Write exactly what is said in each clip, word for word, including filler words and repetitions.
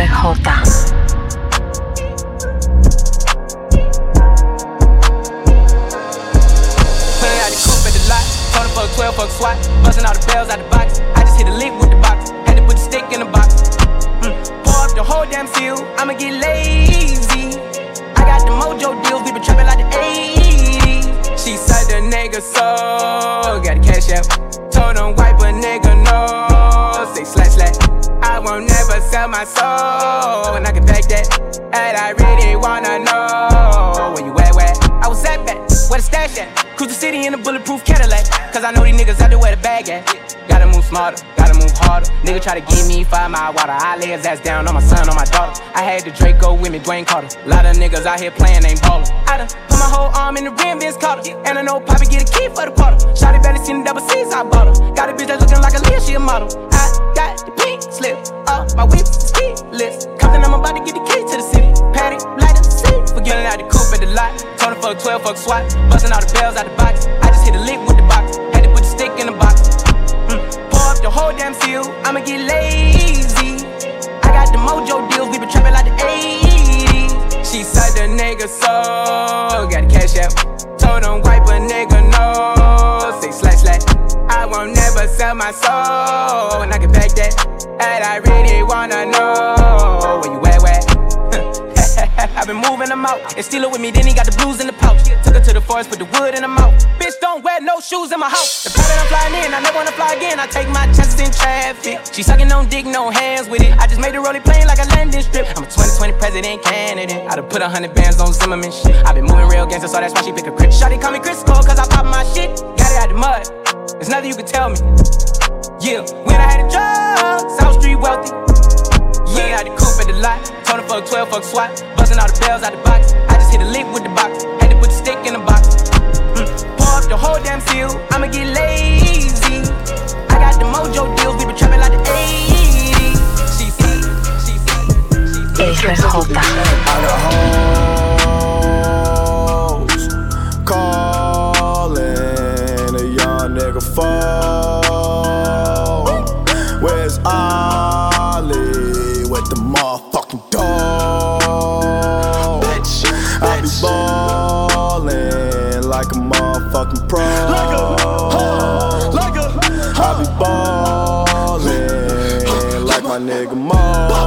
twelve fuck SWAT, busting all the bells out the box. I just hit a lick with the box, had to put the stick in the box. Mm. Pour up the whole damn seal, I'ma get lazy. I got the mojo deals, we been trapping like the eighties. She said the nigga so, got the cash out. Told him wipe a nigga no, say slash slash. I won't never sell my soul, and I can back that. And I really wanna know where you at, where I was at back, where the stash at. Cruise the city in a bulletproof Cadillac, cause I know these niggas out there where the bag at. Gotta move smarter, gotta move harder. Nigga try to give me five mile water, I lay his ass down on my son, on my daughter. I had the Draco with me, Dwayne Carter. Lot of niggas out here playing, ain't ballin'. I done put my whole arm in the rim, Vince Carter. And I know Poppy get a key for the quarter. Shawty barely seen the double C's, I bought her. Got a bitch that's looking like a Leah, she a model. I got the pink slip, uh, my whip's the ski list. Compton, I'm about to get the key to the city. Patty, light up the seat, forgetting out the coupe at the lot. Told her fuck twelve, fuck SWAT, busting all the bells out the box. I just hit a lick with the box, had to put the stick in the box. Mm. Pour up the whole damn seal, I'ma get lazy. I got the mojo deals, we been trapping like the eighties. She said the nigga so, got the cash out. Told him wipe a nigga no, say slash slash. I won't never sell my soul, and I can back that. And I really wanna know where you at, where? I've been moving them out, and steal it with me, then he got the blues in the pouch. Took her to the forest, put the wood in the mouth. Bitch, don't wear no shoes in my house. The pilot I'm flying in, I never wanna fly again. I take my chances in traffic. She sucking on dick, no hands with it. I just made the rolling plane like a landing strip. I'm a twenty twenty president candidate. I done put a hundred bands on Zimmerman shit. I been moving real gangster, so that's why she pick a crib. Shawty call me Chris Cole, cause I pop my shit. Got it out the mud, there's nothing you can tell me. Yeah, when I had the drugs, South Street wealthy. Yeah, I had the coupe at the lot. Told him fuck twelve, fuck SWAT, busting all the bells out the box. I just hit a lick with the box, had to put the stick in the box. Mm. Pour up the whole damn seal, I'ma get lazy. I got the mojo deals, we been trapping like the eighties. She see, she see, she see. Out the hoes, calling a young nigga phone. Where's Ollie with the motherfucking dog? Bitch, I be ballin' like a motherfucking pro. Like a, huh, like a, huh. I be ballin' like my nigga Mo.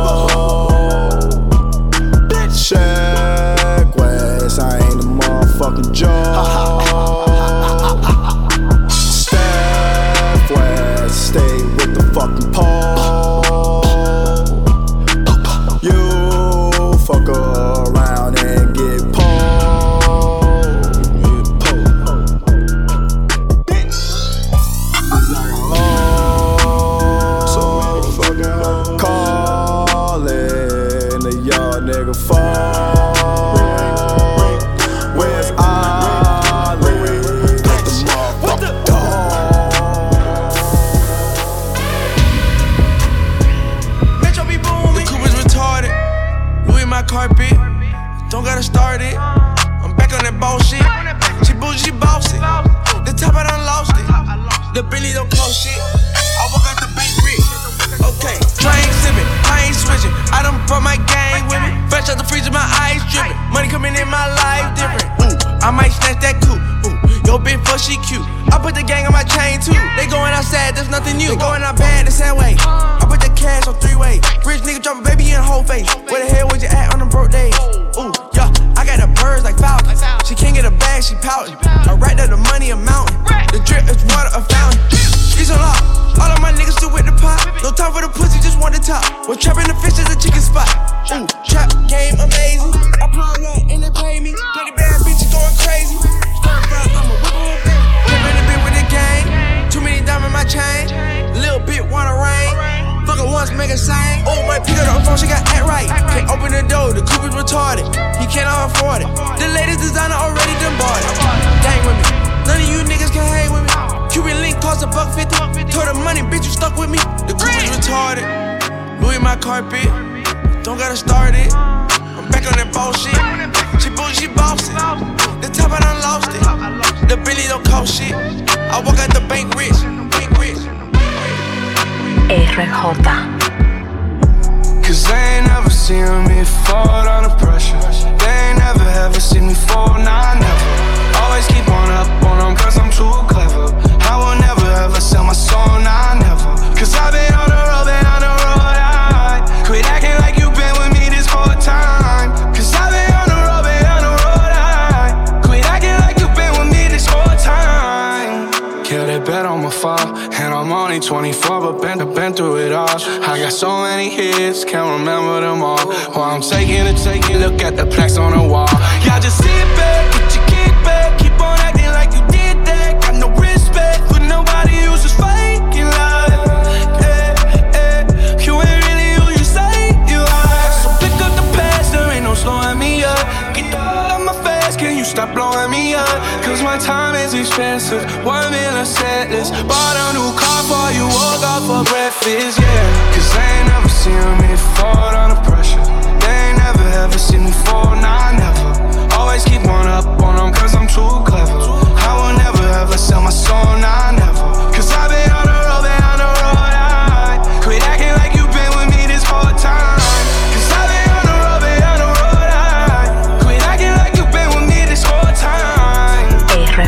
Check West, I ain't a motherfucking joke. Steph West, stay with the fucking pole. You fuck around and get pulled. Oh, calling a young nigga phone. Carpet, don't gotta start it. I'm back on that bullshit. She bougie, she bossy. The top I done lost it. The Billy don't cost shit. I walk out the bank rich. Okay, I ain't sippin', I ain't switching. I done brought my gang with me. Fresh out the freezer, my eyes drippin'. Money coming in my life different. Ooh, I might snatch that coupe. Ooh, yo bitch fuck, she cute. I put the gang on my chain too. They going outside, there's nothing new. They going out bad the same way. I put the cash on three way. Rich nigga drop a baby in the whole face. Where the hell was you at on them broke days? Ooh, yeah, I got the birds like Falcons. She can't get a bag, she pouting. I racked up the money, a mountain. The drip is water, a fountain. She's a lot. All of my niggas still with the pot. No time for the pussy, just want the top. Was trapping the fish at the chicken spot. Ooh, trap game amazing. I plug up and they pay me. Twenty bad bitches going crazy. Stir fry, I'm a whipper with baby. Living a bit with the gang. Too many diamonds in my chain. Little bit wanna rain. Fuck her once, make her sing. Oh, my pick up the phone, she got act right. Can't open the door, the coupe is retarded. He cannot afford it. The latest designer already done bought it. Gang with me, none of you niggas can hang with me. Cuban link cost a buck fifty. Told her money, bitch, you stuck with me. The coupe is retarded. Louis my carpet, don't gotta start it. I'm back on that bullshit. She bougie, she bossy. The top I done lost it. The Billy don't cost shit. I walk out the bank rich, bank rich. R J. Cause I ain't never seen me fall under pressure. They ain't never ever seen me fall, nah, never. Always keep on up on them cause I'm too clever. I will never ever sell my soul, nah, never. Cause I've been on the road, been on the road, I quit acting like you been with me this whole time. Cause I've been on the road, been on the road, I quit acting like you been with me this whole time. Yeah, they bet on my fall, and I'm only twenty-four, but been, been through it all. I got so many hits, can't remember them all. While I'm taking it, taking a look at the plaques on the wall. Y'all just sit back, get your kick back, keep on acting like you did that. Got no respect for nobody who's just faking love. Yeah, yeah. You ain't really who you say you are. So pick up the past, there ain't no slowing me up. Get the f*** out my face, can you stop blowing me up? Cause my time is expensive, one million set list. Bought a new car for you, woke up for breakfast, yeah. Cause they ain't never seen me fall under pressure. They ain't never ever seen me fall, nah, never. Always keep on up on them cause I'm too clever. I will never ever sell my soul, nah, never. Cause I've been on the road, been on the road, I quit acting like you been with me this whole time. Cause I've been on the road, been on the road, I quit acting like you been with me this whole time. R J,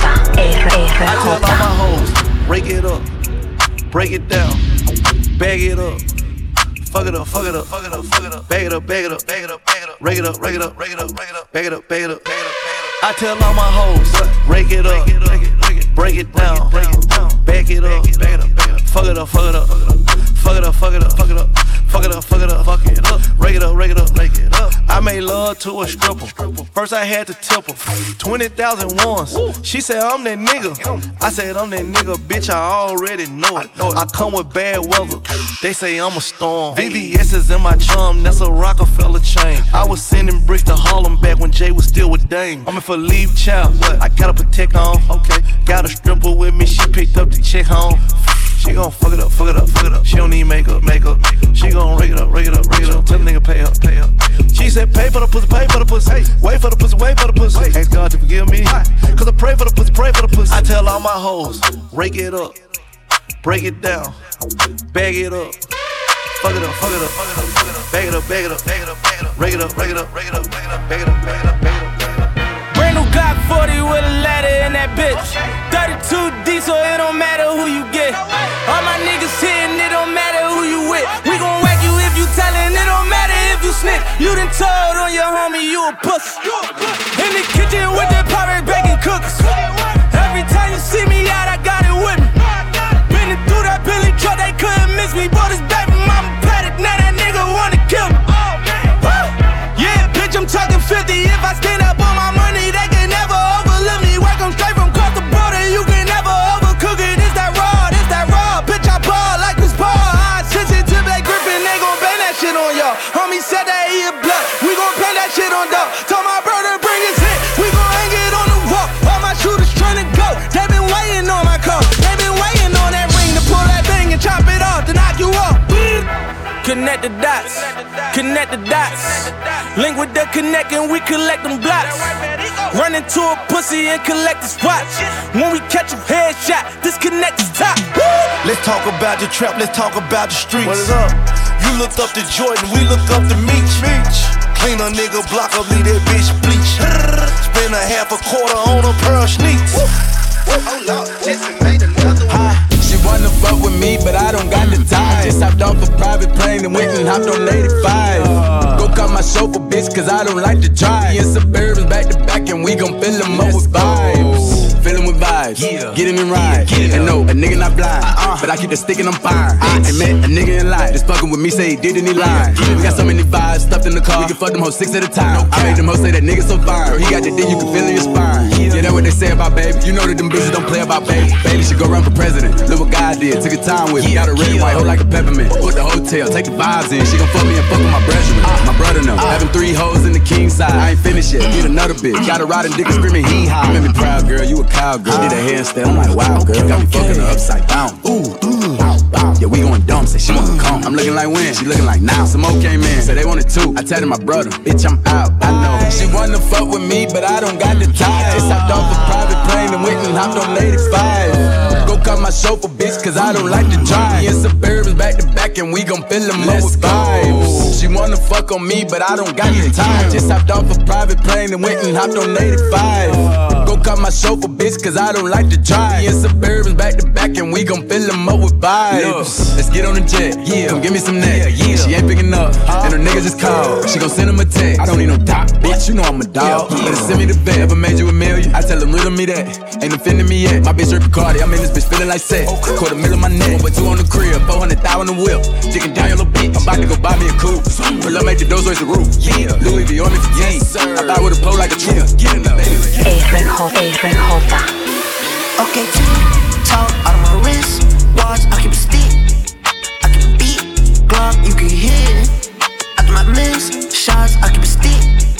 R J. I tell all my hoes, break it up, break it down, bag it up. Fuck it up, fuck it up, fuck it up, fuck it up. Bag it up, bag it up, bag it up, bag it up. Rake it up, rake it up, rake it up, rake it up. Bag it up, bag it up, bag it up, bag it up. I tell all my hoes, rake it up, break it down, bag it up, bag it up. Fuck it up, fuck it up, fuck it up, fuck it up, fuck it up. Fuck it up, fuck it up, fuck it up. Rake it up, rake it up, rake it up. I made love to a stripper. First I had to tip her twenty thousand once. She said I'm that nigga. I said I'm that nigga, bitch, I already know it. I come with bad weather. They say I'm a storm. V V S is in my chum, that's a Rockefeller chain. I was sending bricks to Harlem back when Jay was still with Dame. I'm in for leave child, I gotta protect on. Okay, got a stripper with me, she picked up the check home. She gon' fuck it up, fuck it up, fuck it up. She don't need makeup, makeup. She gon' rake it up, rake it up, rake it up. Tell the nigga pay up, pay up. She said pay for the pussy, pay for the pussy. Hey, wait for the pussy, wait for the pussy. Ask God to forgive me, cause I pray for the pussy, pray for the pussy. I tell all my hoes, rake it up, break it down, bag it up. Fuck it up, fuck it up, fuck it up, fuck it up. Bag it up, bag it up, bag it up, bag it up. Rake it up, rake it up, rake it up, bag it up, bag it up, bag it up, bag it up. Brand new Glock forty with a ladder in that bitch. thirty-two D, so it don't matter who you get. All my niggas hitting, it don't matter who you with. We gon' whack you if you tellin', it don't matter if you snitch. You done told on your homie you a pussy. In the kitchen with that porridge baking cookies. Every time you see me out, I got it with me. Been through that Billy truck, they couldn't miss me. Bought his baby mama paddock, now that nigga wanna kill me. Yeah, bitch, I'm talking fifty. If I stand up on my money, they can never overlook me. Work 'em straight from across the border, you can never overcook it. It's that raw, it's that raw. Bitch, I ball like this ball. I switch it to Blake Griffin, they gon' bang that shit on y'all. Homie said that he a blood, we gon' bang that shit on dog. Told my brother bring his hit, we gon' hang it on the wall. All my shooters tryna go, they been waiting on my call. They been waiting on that ring to pull that thing and chop it off, to knock you off. Connect the dots, connect the dots. Link with the connect and we collect them blocks. Run into a pussy and collect the spots. When we catch a headshot, disconnect the top. Let's talk about the trap, let's talk about the streets. What is up? You looked up to Jordan, we looked up to Meech. Clean a nigga block up, leave that bitch bleach. Spend a half a quarter on a pair of sneaks. Oh Lord, Jesse made another one. She wanna fuck with me, but I don't got the time. Just hopped off a private plane and went and hopped on eighty-five. Go cut my chauffeur, bitch, cause I don't like to drive. Me and Suburbans back to back and we gon' fill them up with vibes. Fill them with vibes, get in and ride. And no, a nigga not blind, but I keep the stick and I'm fine. I met a nigga in line, just fucking with me, say he did and he lied. We got so many vibes stuffed in the car, we can fuck them hoes six at a time. I made them hoes say that nigga so fine. Girl, he got the dick, you can feel in your spine. Yeah, that's what they say about baby. You know that them bitches don't play about baby. Baby should go run for president. Look what God did, took a time with me. Got a red and white hoe like a peppermint. Put the hotel, take the vibes in. She gon' fuck me and fuck with my brethren. My brother know. Having three hoes in the king side. I ain't finished yet. Need another bitch. Got a riding dick and screaming hee haw. Make me proud, girl. You a cowgirl. Did a handstand. I'm like, wow, girl. Got me fucking her upside down. Ooh, ooh. bow. Yeah, we going dumb, say she wanna come. I'm looking like when, she looking like now. Some more came in, say they wanted two. I tell my brother, bitch, I'm out. I know she wanna fuck with me, but I don't got the time. Just hopped off a private plane and went and hopped on eighty-five. Go cut my chauffeur, bitch, cause I don't like to drive. Me and Suburbans back to back and we gon' fill them up with vibes. She wanna fuck on me, but I don't got the time. Just hopped off a private plane and went and hopped on eighty-five. Go cut my chauffeur, bitch, cause I don't like to drive. Me and Suburbans back to back and we gon' fill them up with vibes. Let's get on the jet, yeah. Come give me some neck, yeah. She ain't picking up, and her niggas just called. She gon' send him a text. I don't need no doc, bitch, you know I'm a dog. Better send me the vet. Ever made you a million? I tell them riddle me that. Ain't offending me yet. My bitch Rick Cardi, I'm in this bitch feeling like sex. Quarter middle of my neck, but two on the crib, four hundred thousand on the whip. Chicken down your little bitch. I'm about to go buy me a coupe. Pull up, make the doors raise the roof. Yeah, Louis V on me fatigue. Yes, sir. I buy with a pole like a tree. Get enough. Adrian Hota, Adrian Hota. Okay, talk out of my wrist. Watch, I keep a stick. I keep a beat. Glock, you can hear it. After my miss shots, I keep a stick.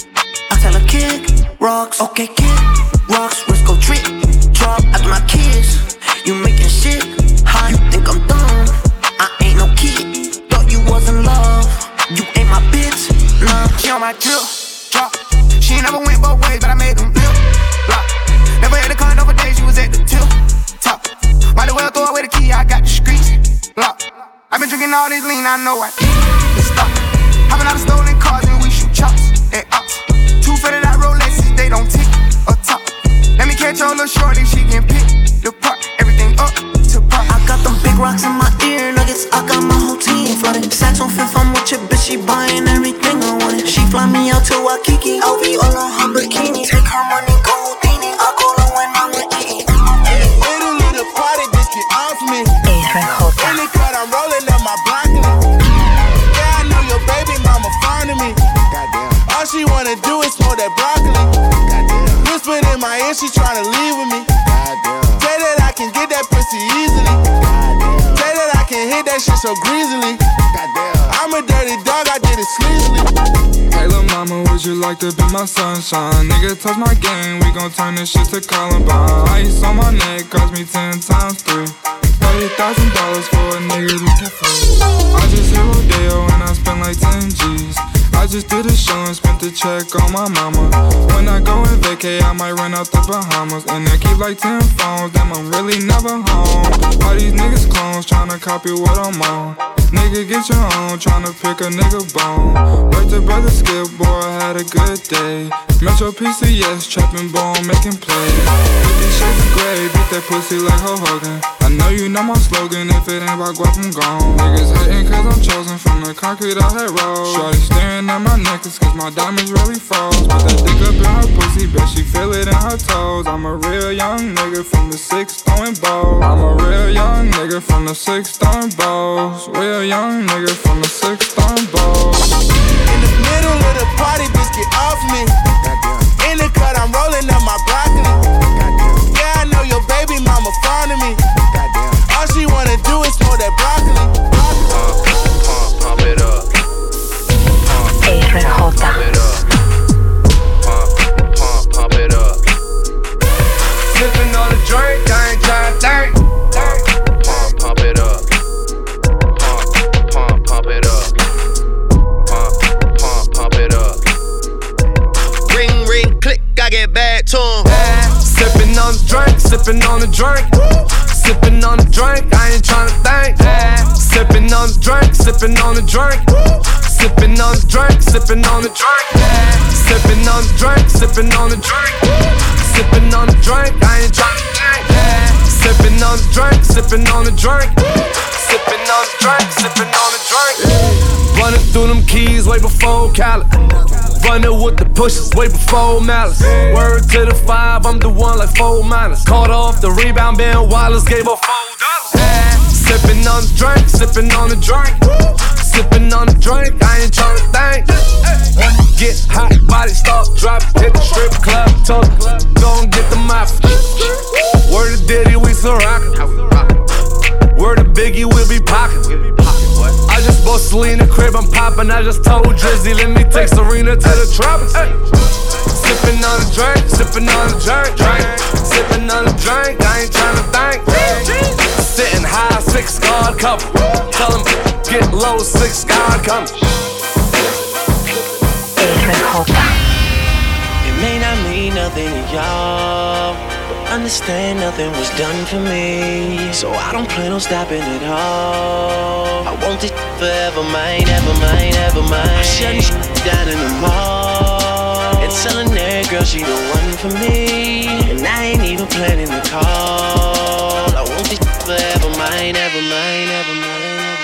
I tell her kick rocks. Okay, kick rocks. Wrist go trick. Drop after my kids. You making shit hot. You think I'm dumb? I ain't no kid. Thought you was in love. You ain't my bitch. Nah, she on my drill. Drop. She never went both ways, but I made them flip. Block. Never had a car over days, she was at the tip. Top. Might as well throw away the key, I got the streets. Lock. I've been drinking all this lean, I know I can't stop. Hopping out of stolen cars and we shoot chops. Hey, ops. Two faded out Rolexes, they don't tick or top. Let me catch your little shorty, she can pick the part. Everything up to part. I got them big rocks in my ear nuggets, I got my whole team flooded. Sacks on fifth, I'm with your bitch, she buying everything I wanted. She fly me out to Waikiki, L V all on her bikini. Take her money, go Houdini, I call her when I'm eating. Little little party, bitch, get off me. Adrian Hota. In the cut, I'm rolling up my broccoli. Yeah, I know your baby mama fond of me. Goddamn. All she wanna do is smoke that broccoli. Goddamn. Whispered in my ear, she tryna leave with me. Goddamn. Say that I can get that pussy easily. Goddamn. Say that I can hit that shit so greasily. Goddamn. I'm a dirty dog, I did it sleazily. Hey lil' mama, would you like to be my sunshine? Nigga, touch my game, we gon' turn this shit to Columbine. Ice on my neck, cost me ten times three. Thirty thousand dollars for a nigga to get free. I just hit Rodeo and I spent like ten G's. I just did a show and spent the check on my mama. When I go and vacay, I might run out the Bahamas. And I keep like ten phones, damn, I'm really never home. All these niggas clones tryna copy what I'm on. Nigga, get your own, tryna pick a nigga bone. Worked the brother Skip, boy, I had a good day. Metro P C S, trapping bone, making plays. fifty shades of gray, beat that pussy like Hulk Hogan. I know you know my slogan, if it ain't about guap, I'm gone. Niggas hating cause I'm chosen from the concrete I had rolled. Shorty staring at my necklace cause my diamonds really froze. Put that dick up in her pussy, bet she feel it in her toes. I'm a real young nigga from the six throwing balls. I'm a real young nigga from the six throwing balls. Real young nigga from the six throwing balls. In the middle of the party, bitch, get off me. Goddamn. In the cut, I'm rolling up my broccoli. Goddamn. Yeah, I know your baby mama fond of me. Goddamn. All she wanna do is smoke that broccoli. Pump, pump, pump it up. Pump, Adrian Hota. pump it up. Pump, pump, pump it up. Sipping on a drink, I ain't tryna think. Pump, pump it up. Pump, pump, pump it up. Pump, pump, pump it up. Ring, ring, click, I get back to him. Sipping on the drink, sipping on the drink. Sipping on the drink, I ain't tryna think. Sipping on the drink, sipping on the drink. Sipping on the drink, sipping on the drink. Sipping on the drink, sipping on the drink. Sipping on the drink, I ain't tryna think. Sipping on the drink, sipping on the drink. Sipping on the drink, sipping on the drink. Running through them keys way before Cali. Running with the pushes way before Malice. Word to the five, I'm the one like four minus. Caught off the rebound, Ben Wallace gave her four dollars. Sipping on the drink, sipping on the drink. Sipping on the drink, I ain't tryna think. Get hot, body start dropping. Hit the strip club, told her, go and get the mop. Word to Diddy, we still rockin'. Word to Biggie, we'll be pockin'. I just bought Selena crib, I'm poppin' I just told Drizzy, let me take Serena to the tropics. Ay. Sippin' on a drink, sippin' on a drink, drink. Sippin' on a drink, I ain't tryna think. Sitting high, six guard cover. Tell him, get low, six guard coming. It may not mean nothing to y'all, but understand nothing was done for me, so I don't plan on stopping at all. I want this forever, mine, ever mine, ever mine. I'm shutting shit down in the mall and telling that girl she the one for me, and I ain't even planning to call. I want this forever, mine, ever mine, ever mine.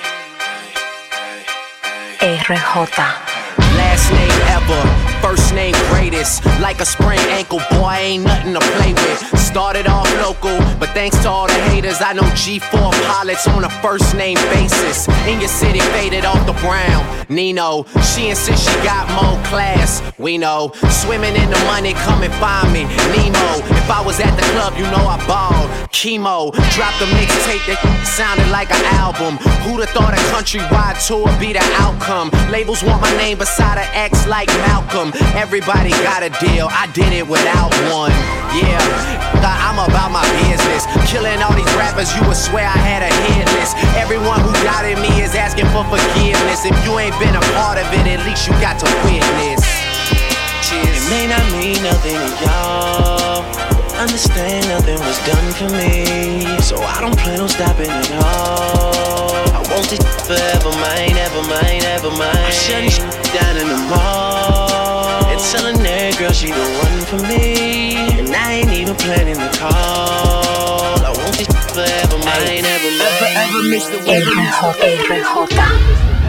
R J. Last name ever, first name greatest. Like a sprained ankle, boy, ain't nothing to play with. Started off local, but thanks to all the haters, I know G four pilots on a first name basis. In your city, faded off the brown. Nino, she insists she got more class. We know, swimming in the money, come and find me. Nemo, if I was at the club, you know I balled. Chemo, dropped a mixtape that sounded like an album. Who'da thought a countrywide tour be the outcome? Labels want my name beside an X like Malcolm. Everybody got a deal, I did it without one. Yeah, I'm about my business. Killing all these rappers, you would swear I had a hit list. Everyone who doubted me is asking for forgiveness. If you ain't been a part of it, at least you got to witness. Cheers. It may not mean nothing to y'all, understand nothing was done for me, so I don't plan on stopping at all. I want this forever, mine, ever mine, ever mine. I'm shutting shit down in the mall and telling that girl she the one for me, and I ain't even planning to call. I want this forever, mine, ever mine. Ever, ever miss the R J.